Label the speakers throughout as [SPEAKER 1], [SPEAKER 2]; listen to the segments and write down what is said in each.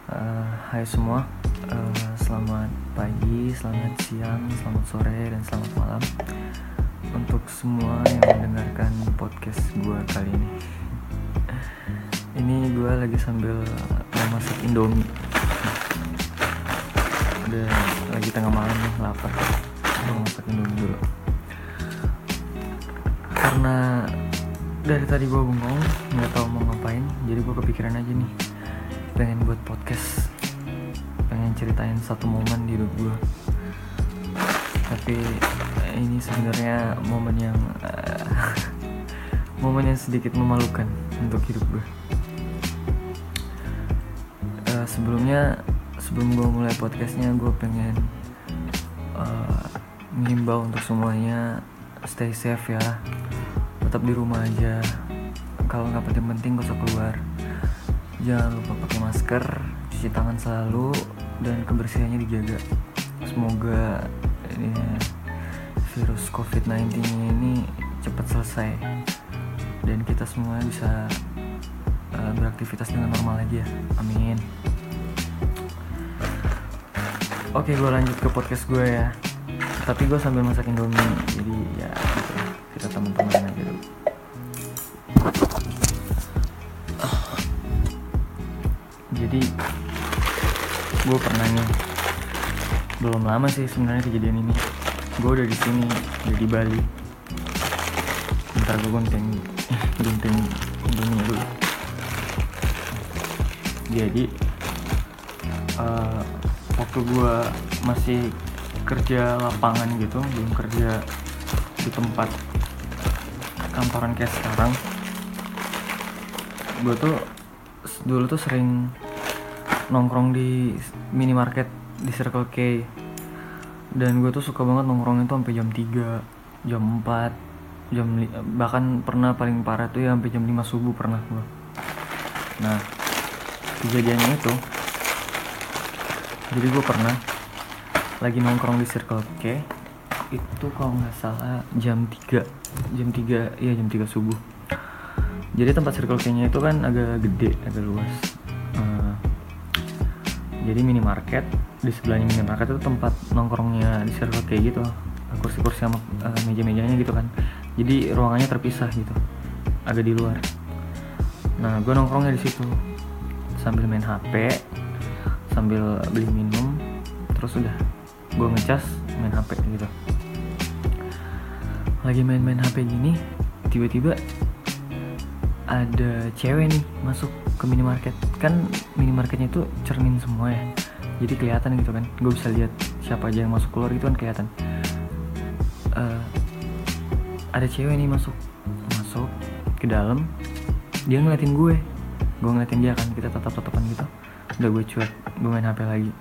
[SPEAKER 1] Hai semua, selamat pagi, selamat siang, selamat sore, dan selamat malam untuk semua yang mendengarkan podcast gue kali ini. Ini gue lagi sambil memasak Indomie. Udah lagi tengah malam nih, lapar. Gue masak Indomie dulu. Karena dari tadi gue bengong, nggak tahu mau ngapain, jadi gue kepikiran aja nih, pengen buat podcast, pengen ceritain satu momen di hidup gue. Tapi ini sebenarnya momen yang momen yang sedikit memalukan untuk hidup gue. Sebelum gue mulai podcastnya, gue pengen mengimbau untuk semuanya, stay safe ya, tetap di rumah aja. Kalau nggak penting-penting gak usah keluar. Jangan lupa pakai masker, cuci tangan selalu, dan kebersihannya dijaga. Semoga ini virus COVID-19 ini cepat selesai dan kita semua bisa beraktivitas dengan normal lagi ya. Amin. Oke, gue lanjut ke podcast gue ya. Tapi gue sambil masak Indomie, jadi ya gitu, kita teman-teman aja dulu. Jadi gue pernah nih, belum lama sih sebenarnya kejadian ini. Gue udah di sini, udah di Bali. Bentar gue gunting Indomie dulu. Jadi waktu gue masih kerja lapangan gitu, belum kerja di tempat kantoran kayak sekarang, gue tuh dulu tuh sering nongkrong di minimarket di Circle K. Dan gue tuh suka banget nongkrong itu sampai jam 3, jam 4, bahkan pernah paling parah tuh ya sampai jam 5 subuh pernah gue. Nah, kejadiannya itu, jadi gue pernah lagi nongkrong di Circle K itu kalau nggak salah jam 3 subuh. Jadi tempat Circle K-nya itu kan agak gede, agak luas. Jadi minimarket, di sebelahnya minimarket itu tempat nongkrongnya di Circle K gitu, kursi-kursi sama meja-mejanya gitu kan. Jadi ruangannya terpisah gitu, agak di luar. Nah, gue nongkrongnya di situ sambil main HP, sambil beli minum, terus udah gue ngecas main HP gitu. Lagi main HP gini, tiba-tiba ada cewek nih masuk ke minimarket. Kan minimarketnya itu cermin semua ya, jadi kelihatan gitu kan, gue bisa lihat siapa aja yang masuk keluar gitu kan, kelihatan. Ada cewek nih masuk ke dalam, dia ngeliatin gue ngeliatin dia kan, kita tatap-tatapan gitu. Udah gue cuek, gue main HP lagi.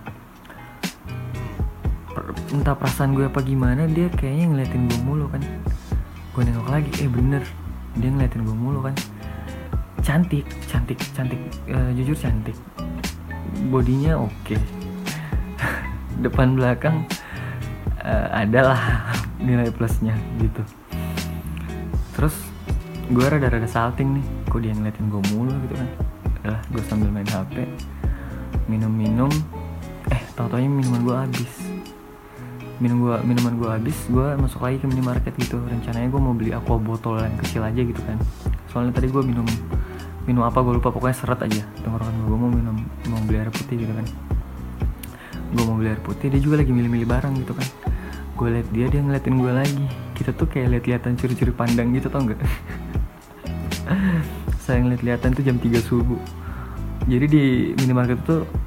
[SPEAKER 1] Entah perasaan gue apa gimana, dia kayaknya ngeliatin gue mulu kan. Gue nengok lagi, bener, dia ngeliatin gue mulu kan. Cantik, jujur cantik, bodinya oke. Depan belakang adalah nilai plusnya gitu. Terus gue rada-rada salting nih, kok dia ngeliatin gue mulu gitu kan. Udah, gue sambil main HP, minum, tau-taunya minuman gue habis. Gue masuk lagi ke minimarket gitu. Rencananya gue mau beli aqua botol yang kecil aja gitu kan. Soalnya tadi gue minum apa gue lupa, pokoknya seret aja tenggorokan gue. Mau beli air putih gitu kan. Gue mau beli air putih, dia juga lagi milih-milih barang gitu kan. Gue liat dia ngeliatin gue lagi. Kita tuh kayak liat-liatan curi-curi pandang gitu, tau gak? Saya ngeliat-liatan tuh jam 3 subuh. Jadi di minimarket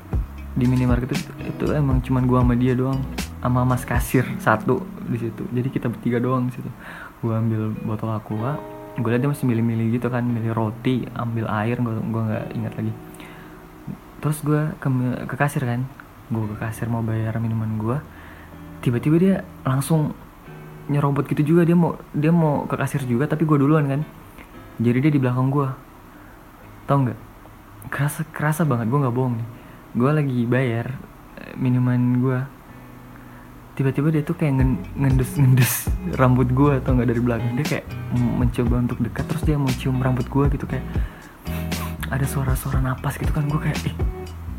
[SPEAKER 1] itu emang cuman gue sama dia doang, sama mas kasir satu di situ. Jadi kita bertiga doang di situ. Gue ambil botol aqua, gue liat dia masih milih-milih gitu kan, milih roti, ambil air, gue nggak ingat lagi. Terus gue ke kasir kan, gue ke kasir mau bayar minuman gue. Tiba-tiba dia langsung nyerobot gitu juga, dia mau ke kasir juga, tapi gue duluan kan. Jadi dia di belakang gue, tau nggak? Kerasa banget, gue nggak bohong nih. Gue lagi bayar minuman gue, tiba-tiba dia tuh kayak ngendus rambut gue, tau nggak, dari belakang. Dia kayak mencoba untuk dekat, terus dia mau cium rambut gue gitu, kayak ada suara-suara napas gitu kan. Gue kayak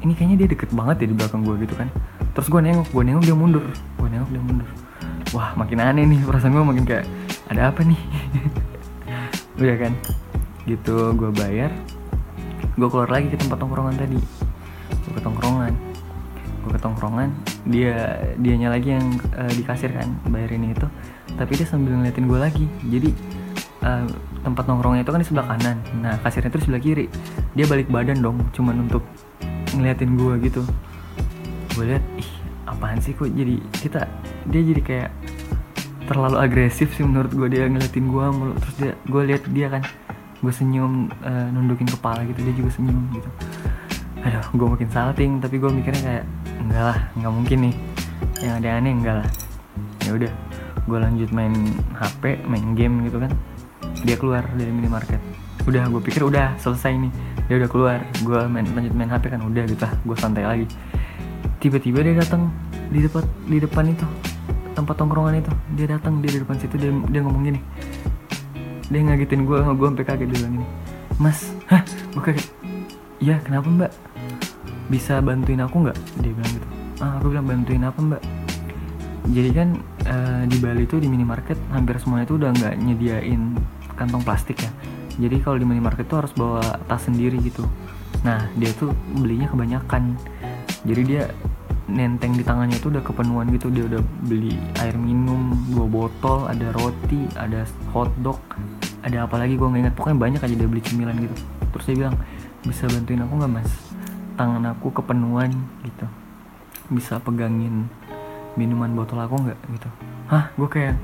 [SPEAKER 1] ini kayaknya dia deket banget ya di belakang gue gitu kan. Terus gue nengok dia mundur, wah makin aneh nih, perasaan gue makin kayak ada apa nih. Udah kan gitu, gue bayar, gue keluar lagi ke tempat tongkrongan tadi. Gue ke tongkrongan, dianya lagi yang di kasir kan, bayarin itu, tapi dia sambil ngeliatin gue lagi. Jadi tempat nongkrongnya itu kan di sebelah kanan, nah kasirnya itu di sebelah kiri. Dia balik badan dong, cuman untuk ngeliatin gue gitu. Gue lihat, ih apaan sih kok jadi dia jadi kayak terlalu agresif sih menurut gue, dia ngeliatin gue mulu. Terus gue lihat dia kan, gue senyum, nundukin kepala gitu, dia juga senyum gitu. Aduh, gue makin salting, tapi gue mikirnya kayak enggak lah, nggak mungkin nih yang ada aneh, enggak lah. Ya udah, gue lanjut main HP, main game gitu kan. Dia keluar dari minimarket. Udah, gue pikir udah selesai nih, dia udah keluar. Gue lanjut main HP kan, udah gitu lah, gue santai lagi. Tiba-tiba dia datang di depan itu tempat tongkrongan itu. Dia datang di depan situ, dia ngomong gini. Dia ngagetin gue sampai kaget. Dia bilang gini, "Mas." Hah? Gue kaget. "Iya, kenapa mbak? Bisa bantuin aku nggak?" Dia bilang gitu. Aku bilang, "Bantuin apa mbak?" Jadi kan di Bali tuh di minimarket hampir semuanya tuh udah nggak nyediain kantong plastik ya. Jadi kalau di minimarket tuh harus bawa tas sendiri gitu. Nah dia tuh belinya kebanyakan, jadi dia nenteng di tangannya tuh udah kepenuhan gitu. Dia udah beli air minum 2 botol, ada roti, ada hotdog, ada apa lagi gue nggak ingat, pokoknya banyak aja dia beli cemilan gitu. Terus dia bilang, "Bisa bantuin aku nggak mas? Tangan aku kepenuhan gitu, bisa pegangin minuman botol aku nggak?" gitu. Hah? Gue kayak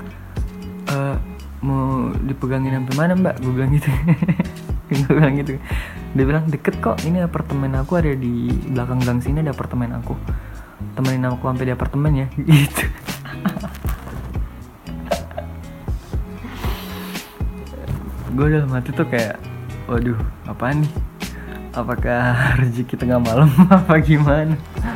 [SPEAKER 1] mau dipegangin sampai mana mbak? Gue bilang gitu. Gue bilang gitu. Dia bilang, "Deket kok, ini apartemen aku ada di belakang gang sini, ada apartemen aku, temenin aku sampai di apartemen ya." Gitu. Gue dalam hati tuh kayak, waduh apaan nih, apakah rezeki tengah malam apa gimana.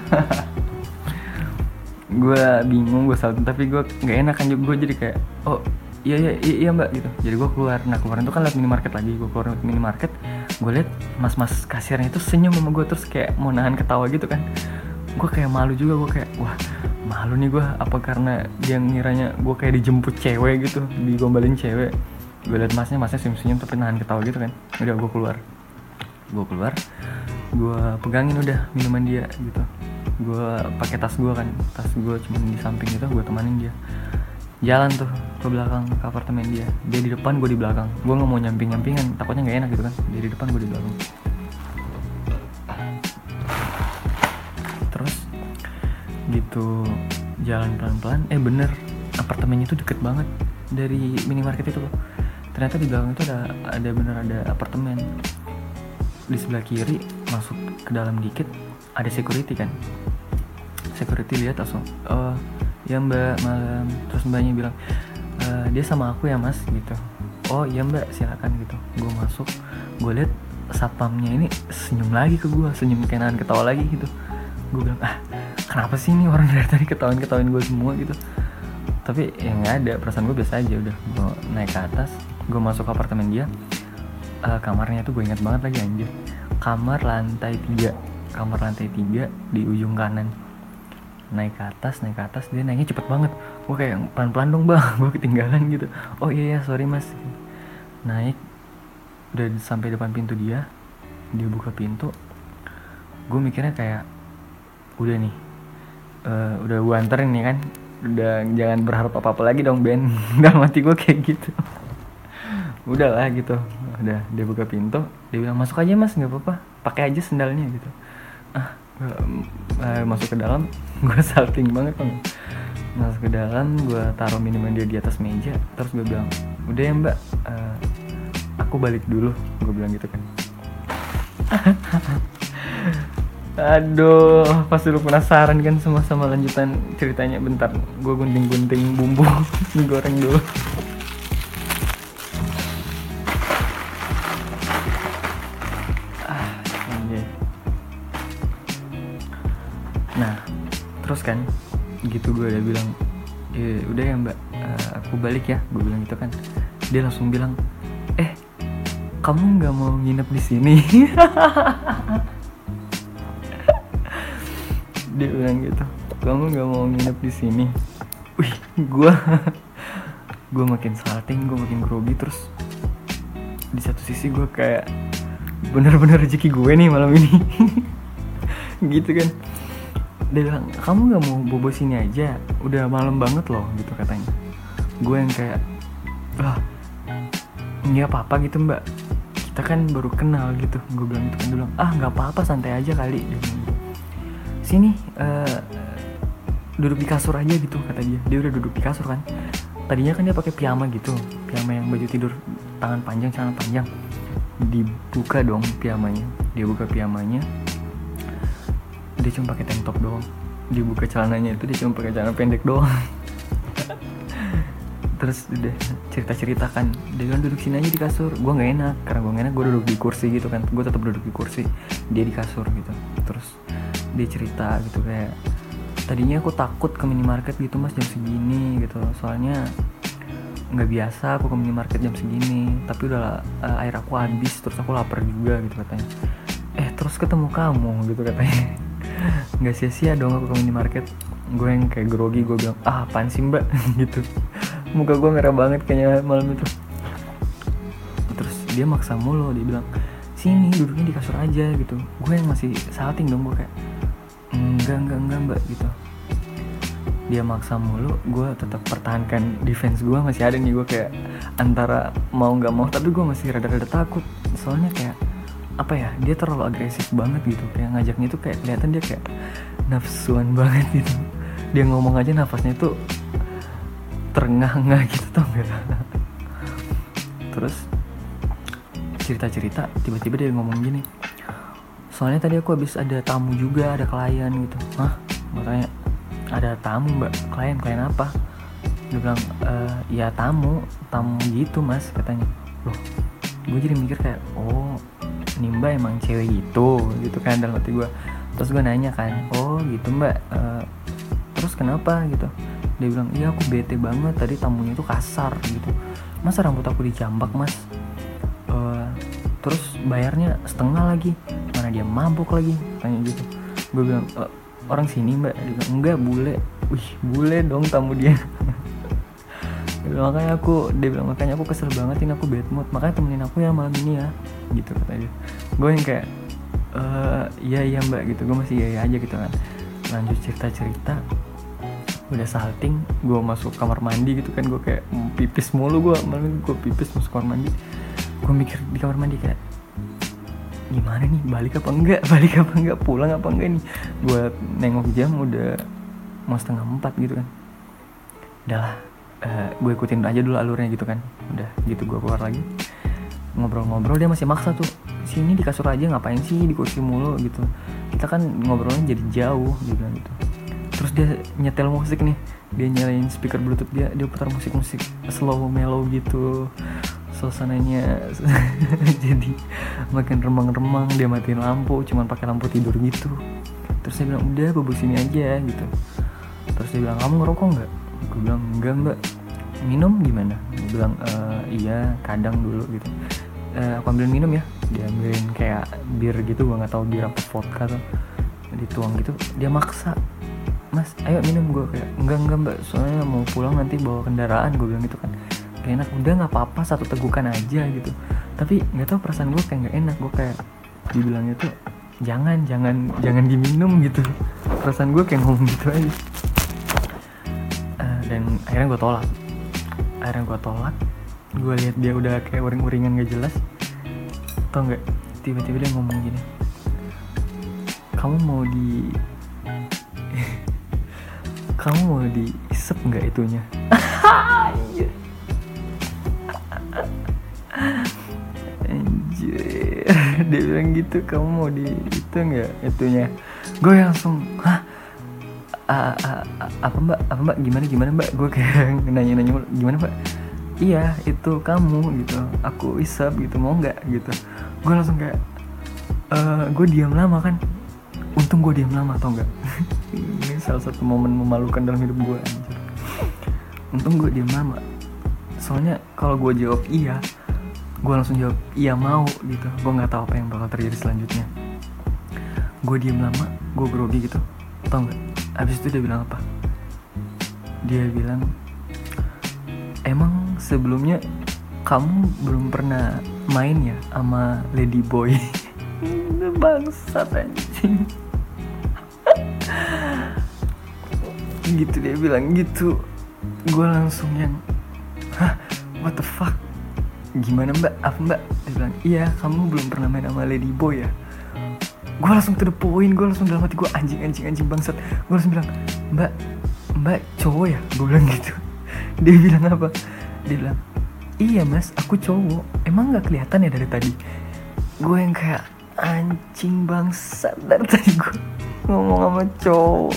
[SPEAKER 1] Gue bingung, gue salting, tapi gue nggak enak kan. Gue jadi kayak, "Oh iya mbak" gitu. Jadi gue keluar. Nah kemarin tuh kan liat minimarket lagi. Gue keluar minimarket, gue liat mas kasirnya itu senyum sama gue, terus kayak mau nahan ketawa gitu kan. Gue kayak malu juga, gue kayak wah malu nih gue, apa karena dia ngiranya gue kayak dijemput cewek gitu, digombalin cewek. Gue liat masnya senyum tapi nahan ketawa gitu kan. Udah gue keluar, gue pegangin udah minuman dia gitu. Gue pakai tas gue kan, tas gue cuma di samping gitu, gue temanin dia jalan tuh ke belakang ke apartemen dia. Dia di depan, gue di belakang. Gue nggak mau nyampingan, takutnya nggak enak gitu kan. Dia di depan, gue di belakang. Terus gitu jalan pelan-pelan, bener apartemennya tuh deket banget dari minimarket itu loh. Ternyata di belakang itu ada apartemen. Di sebelah kiri masuk ke dalam dikit ada security kan. Security lihat langsung, "Oh ya mbak, malam." Terus mbaknya bilang, "Dia sama aku ya mas," gitu. "Oh iya mbak, silakan," gitu. Gue masuk, gue lihat satpamnya ini senyum lagi ke gue, senyum kayak nahan ketawa lagi gitu. Gue bilang, kenapa sih ini orang dari tadi ketawain gue semua gitu. Tapi ya nggak ada, perasaan gue biasa aja. Udah gue naik ke atas, gue masuk ke apartemen dia. Kamarnya tuh gue ingat banget lagi anjir, kamar lantai 3 di ujung kanan. Naik ke atas, dia naiknya cepet banget. Gue kayak, "Pelan-pelan dong bang," gue ketinggalan gitu. "Oh iya sorry mas." Naik, udah sampai depan pintu dia buka pintu. Gue mikirnya kayak, udah nih, udah gue anterin nih kan, udah jangan berharap apa-apa lagi dong Ben. Dalam hati gue kayak gitu. Udahlah gitu. Udah, dia buka pintu, dia bilang, "Masuk aja mas, nggak apa-apa, pakai aja sendalnya," gitu. Masuk ke dalam, gue salting banget kan. Masuk ke dalam, gue taruh minuman dia di atas meja. Terus gue bilang, "Udah ya mbak, aku balik dulu," gue bilang gitu kan. Aduh, pasti lu penasaran kan sama lanjutan ceritanya. Bentar, gue gunting-gunting bumbu mie goreng dulu. Nah, terus kan gitu gue udah bilang, "Udah ya mbak, aku balik ya," gue bilang gitu kan. Dia langsung bilang, "Kamu nggak mau nginep di sini?" Dia bilang gitu, kamu nggak mau nginep di sini. Wih, gue makin salting, gue makin grogi. Terus di satu sisi gue kayak bener-bener rezeki gue nih malam ini. Gitu kan. Dia bilang, kamu nggak mau bobo sini aja, udah malam banget loh gitu katanya. Gue yang kayak, nggak apa-apa gitu mbak, kita kan baru kenal gitu. Gue bilang gitu kan. Dia bilang, nggak apa-apa, santai aja kali. Dia bilang gitu. Sini duduk di kasur aja gitu kata dia. Dia udah duduk di kasur kan. Tadinya kan dia pakai piyama gitu, piyama yang baju tidur tangan panjang, celana panjang. Dibuka dong piyamanya, dia buka piyamanya, dia cuma pakai tank top doang. Dibuka celananya itu, dia cuma pakai celana pendek doang. Terus udah cerita kan, dia bilang duduk sini aja di kasur. Gue nggak enak, karena gue nggak enak, gue duduk di kursi gitu kan. Gue tetap duduk di kursi, dia di kasur gitu. Terus dia cerita gitu kayak, tadinya aku takut ke minimarket gitu mas jam segini gitu, soalnya nggak biasa aku ke minimarket jam segini. Tapi udah air aku habis, terus aku lapar juga gitu katanya. Terus ketemu kamu gitu katanya. Nggak sia-sia dong aku ke minimarket. Gue yang kayak grogi, gue bilang apaan sih mbak. Gitu. Muka gue merah banget kayaknya malam itu. Terus dia maksa mulu, dia bilang sini duduknya di kasur aja gitu. Gue yang masih salting dong, gue kayak enggak mbak gitu. Dia maksa mulu, gue tetap pertahankan defense gue masih ada nih. Gue kayak antara mau nggak mau, tapi gue masih rada-rada takut. Soalnya kayak apa ya, dia terlalu agresif banget gitu. Kayak ngajaknya tuh kayak kelihatan dia kayak nafsuan banget gitu. Dia ngomong aja nafasnya tuh terengah-engah gitu, tau gak? Terus cerita-cerita, tiba-tiba dia ngomong gini, soalnya tadi aku habis ada tamu juga, ada klien gitu. Hah? Gue tanya, ada tamu mbak? Klien apa? Dia bilang, ya tamu gitu mas katanya. Loh, gue jadi mikir kayak, oh ini mbak emang cewek gitu kan dalam hati gue. Terus gue nanya kan, oh gitu mbak, terus kenapa gitu? Dia bilang, iya aku bete banget, tadi tamunya tuh kasar gitu. Masa rambut aku dijambak mas? Terus bayarnya setengah lagi, mana dia mabuk lagi, tanya gitu. Gue bilang, orang sini mbak? Dia bilang, enggak, bule. Wih, bule dong tamu dia. Dia bilang makanya aku kesel banget, ini aku bad mood, makanya temenin aku ya malam ini ya, gitu kata dia. Gue yang kayak, iya mbak gitu. Gue masih iya aja gitu kan. Lanjut cerita, udah salting, gue masuk kamar mandi gitu kan. Gue kayak pipis mulu, malam gue pipis masuk kamar mandi. Gue mikir di kamar mandi kayak, gimana nih, balik apa enggak, pulang apa enggak nih. Gue nengok jam udah mau 3:30 gitu kan. Udahlah, gue ikutin aja dulu alurnya gitu kan. Udah gitu gue keluar lagi, ngobrol-ngobrol. Dia masih maksa tuh, sini di kasur aja, ngapain sih di kursi mulu gitu, kita kan ngobrolnya jadi jauh gitu. Terus dia nyetel musik nih, dia nyalain speaker bluetooth, dia putar musik slow mellow gitu, suasananya jadi makin remang-remang. Dia matiin lampu, cuman pakai lampu tidur gitu. Terus dia bilang, udah bobo sini aja gitu. Terus dia bilang, kamu ngerokok nggak? Gue bilang, enggak mbak. Minum gimana? Gue bilang, iya kadang dulu gitu. Aku ambilin minum ya. Dia ambilin kayak bir gitu, gue nggak tahu bir apa vodka tuh, dituang gitu. Dia maksa, mas ayo minum. Gue kayak, enggak mbak, soalnya mau pulang nanti bawa kendaraan. Gue bilang gitu kan. Gak enak, udah nggak apa-apa, satu tegukan aja gitu. Tapi nggak tahu perasaan gue kayak nggak enak. Gue kayak dibilangnya tuh jangan diminum gitu. Perasaan gue kayak ngomong gitu aja. Dan akhirnya gue tolak. Gue lihat dia udah kayak uring-uringan gak jelas. Tau nggak? Tiba-tiba dia ngomong gini, kamu mau diisep nggak itunya? Anjir. Dia bilang gitu, kamu mau di itu nggak itunya? Gue langsung, hah? Apa mbak? Gimana mbak? Gue kayak nanya gimana mbak? Iya itu kamu gitu, aku isep gitu, mau nggak gitu. Gue langsung kayak, gue diam lama kan. Untung gue diam lama, tau nggak? Ini salah satu momen memalukan dalam hidup gue, anjir. Untung gue diam lama. Soalnya kalau gue jawab iya, gue langsung jawab iya mau gitu, gue nggak tahu apa yang bakal terjadi selanjutnya. Gue diam lama, gue grogi gitu. Tau gak? Abis itu dia bilang apa? Dia bilang, emang sebelumnya kamu belum pernah main ya sama Lady Boy? Bangsat anjing. Gitu dia bilang gitu. Gue langsung yang, hah, what the fuck? Gimana mbak? Apa mbak? Dia bilang, iya kamu belum pernah main sama Lady Boy ya? Gue langsung to the point. Gue langsung dalam hati gue, anjing bangsat. Gue langsung bilang, mbak cowok ya? Gue bilang gitu. Dia bilang apa? Dia bilang, iya mas, aku cowok. Emang gak kelihatan ya dari tadi? Gue yang kayak, anjing bangsat, dari tadi gue ngomong sama cowok.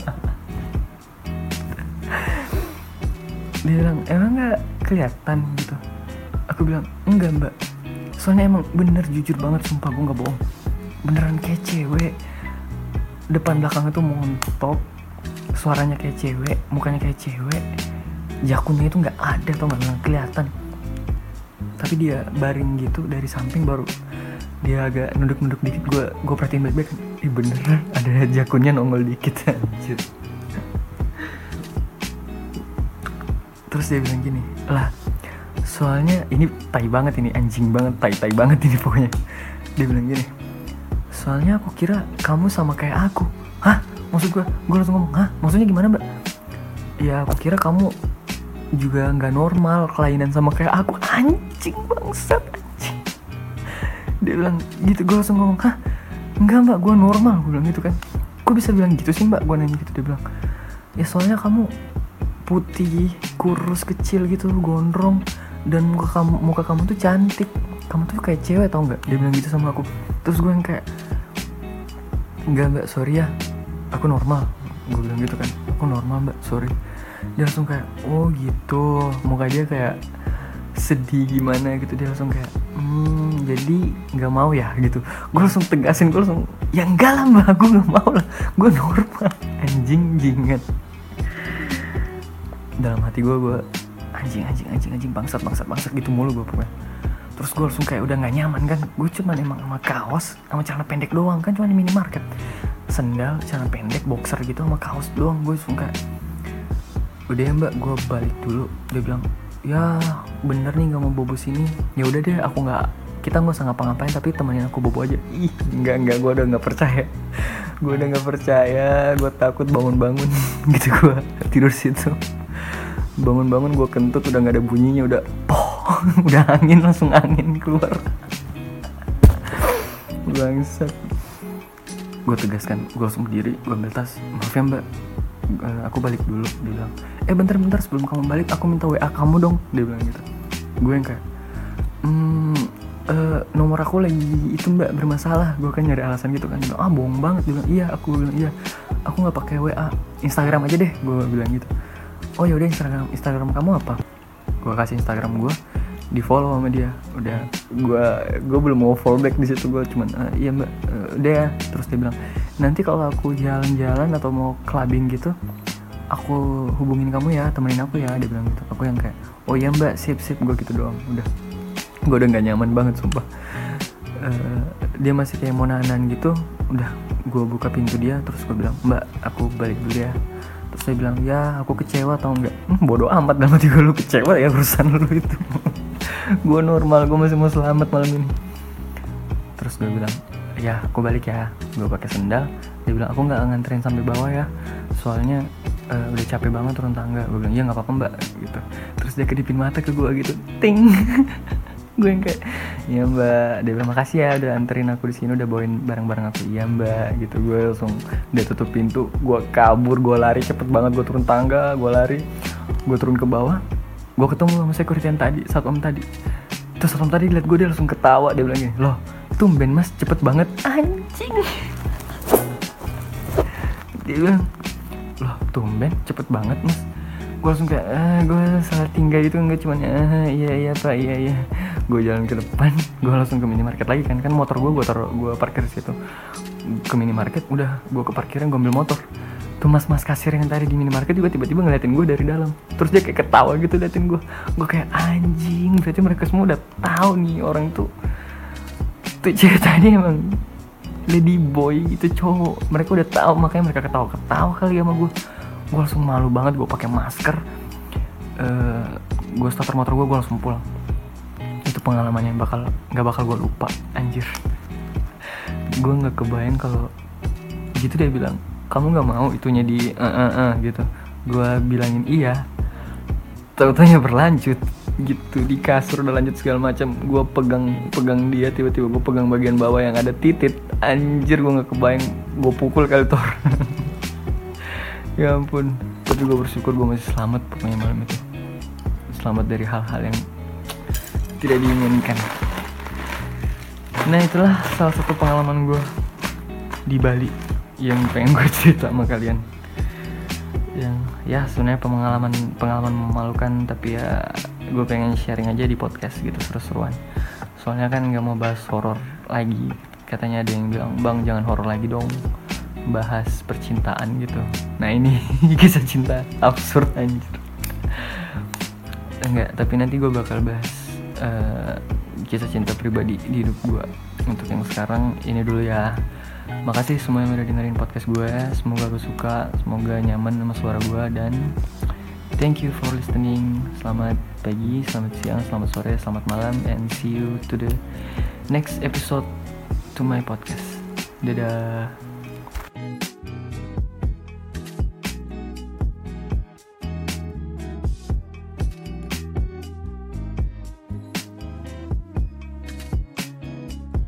[SPEAKER 1] Dia bilang, emang gak kelihatan gitu? Aku bilang, enggak mbak, soalnya emang bener, jujur banget, sumpah gue gak bohong, beneran kayak cewek. Depan belakangnya tuh montok, suaranya kayak cewek, mukanya kayak cewek, jakunnya itu gak ada, tau gak kelihatan. Tapi dia baring gitu dari samping, baru dia agak nunduk-nunduk dikit. Gue perhatiin baik-baik, beneran ada jakunnya nongol dikit. Anjir. Terus dia bilang gini, lah soalnya ini tai banget, ini anjing banget, tai banget ini pokoknya. Dia bilang gini, soalnya aku kira kamu sama kayak aku. Hah? Maksud gue langsung ngomong, hah? Maksudnya gimana mbak? Ya aku kira kamu juga gak normal, kelainan sama kayak aku. Anjing bangsat, anjing. Dia bilang gitu, gue langsung ngomong, hah? Enggak mbak, gue normal. Gue bilang gitu kan, kok bisa bilang gitu sih mbak? Gue nanya gitu. Dia bilang, ya soalnya kamu putih, kurus, kecil gitu, gondrong, dan muka kamu tuh cantik, kamu tuh kayak cewek, tau nggak? Dia bilang gitu sama aku. Terus gue yang kayak, enggak mbak, sorry ya, aku normal. Gue bilang gitu kan, aku normal mbak, sorry. Dia langsung kayak, oh gitu, muka dia kayak sedih gimana gitu. Dia langsung kayak, jadi nggak mau ya gitu. Gue langsung tegasin, gue langsung, ya enggak lah mbak, gue nggak mau lah, gue normal. Anjing jinget. Dalam hati gue anjing bangsat gitu mulu gue pokoknya. Terus gue langsung kayak udah gak nyaman kan. Gue cuman emang sama kaos sama celana pendek doang kan, cuman di minimarket, sendal, celana pendek, boxer gitu sama kaos doang. Gue langsung kayak, udah ya mbak, gue balik dulu. Dia bilang, ya bener nih gak mau bobo sini. Ya udah deh, kita nggak usah ngapa-ngapain, tapi temenin aku bobo aja. Ih enggak, gue udah nggak percaya. Gue takut bangun gitu. Gue tidur situ, bangun gue kentut, udah nggak ada bunyinya, udah udah langsung angin keluar. Bangsat. Gue tegaskan, gue langsung berdiri, gue ambil tas. Maaf ya mbak, aku balik dulu. Dia bilang, bentar sebelum kamu balik aku minta WA kamu dong. Dia bilang gitu. Gue yang kayak, nomor aku lagi itu mbak bermasalah. Gue kan nyari alasan gitu kan. Dia bilang, bohong banget. Dia bilang, iya. Aku bilang, iya, aku nggak pakai WA, Instagram aja deh. Gue bilang gitu. Oh yaudah, Instagram kamu apa? Gue kasih Instagram gue, di follow sama dia. Udah, gue belum mau follow back di situ. Gue cuman, iya mbak, udah ya. Terus dia bilang, nanti kalau aku jalan-jalan atau mau clubbing gitu, aku hubungin kamu ya, temenin aku ya. Dia bilang gitu. Aku yang kayak, oh iya mbak, sip. Gue gitu doang. Udah, gue udah nggak nyaman banget sumpah. Dia masih kayak mau nahan gitu. Udah, gue buka pintu dia. Terus gue bilang, mbak, aku balik dulu ya. Terus dia bilang, ya aku kecewa tau nggak? Bodoh amat, dalam hati gue, lu kecewa ya urusan lu itu. Gue normal, gue masih mau selamat malam ini. Terus gue bilang, ya aku balik ya. Gue pakai sendal. Dia bilang, aku nggak nganterin sampai bawah ya, soalnya udah capek banget turun tangga. Gue bilang, ya nggak apa-apa mbak gitu. Terus dia kedipin mata ke gue gitu, ting. Gue yang kayak, iya mbak. Dia bilang, makasih ya udah anterin aku di sini, udah bawain barang-barang aku. Iya mbak gitu. Gue langsung, dia tutup pintu, gue kabur, gue lari cepet banget. Gue turun tangga, gue lari, gue turun ke bawah. Gue ketemu sama security yang tadi, satpam tadi. Terus satpam tadi liat gue, dia langsung ketawa. Dia bilang gini, loh tumben mas, cepet banget. Anjing. Dia bilang, loh tumben cepet banget mas. Gue langsung kayak, gue salah tinggal gitu. Enggak, cuman iya pak, iya. Gue jalan ke depan, gue langsung ke minimarket lagi kan motor gue parkir di situ. Ke minimarket, udah gue ke parkiran, gue ambil motor. Tuh mas kasir yang tadi di minimarket juga tiba-tiba ngeliatin gue dari dalam. Terus dia kayak ketawa gitu liatin gue. Gue kayak, anjing, berarti mereka semua udah tahu nih orang tuh cewek tadi emang lady boy itu cowok. Mereka udah tahu, makanya mereka ketawa kali sama gue langsung malu banget. Gue pakai masker, gue starter motor gue langsung pulang. Itu pengalamannya nggak bakal gue lupa, anjir. Gue nggak kebayang kalau gitu. Dia bilang, kamu nggak mau itunya di gitu. Gue bilangin iya, tahu-taunya berlanjut gitu. Di kasur udah lanjut segala macam. Gue pegang dia, tiba-tiba gue pegang bagian bawah yang ada titit. Anjir, gue nggak kebayang. Gue pukul kali Thor. Ya ampun. Tapi gue bersyukur gue masih selamat pokoknya malam itu. Selamat dari hal-hal yang tidak diinginkan. Nah, itulah salah satu pengalaman gue di Bali yang pengen gue cerita sama kalian. Yang ya sebenarnya pengalaman memalukan, tapi ya gue pengen sharing aja di podcast gitu, seru-seruan. Soalnya kan nggak mau bahas horor lagi. Katanya ada yang bilang, bang jangan horor lagi dong, bahas percintaan gitu. Nah ini kisah cinta absurd anjir. Enggak, tapi nanti gue bakal bahas kisah cinta pribadi di hidup gue. Untuk yang sekarang ini dulu ya. Makasih semua yang udah dengerin podcast gue. Semoga gue suka, semoga nyaman sama suara gue. Dan thank you for listening. Selamat pagi, selamat siang, selamat sore, selamat malam. And see you to the next episode to my podcast. Dadah.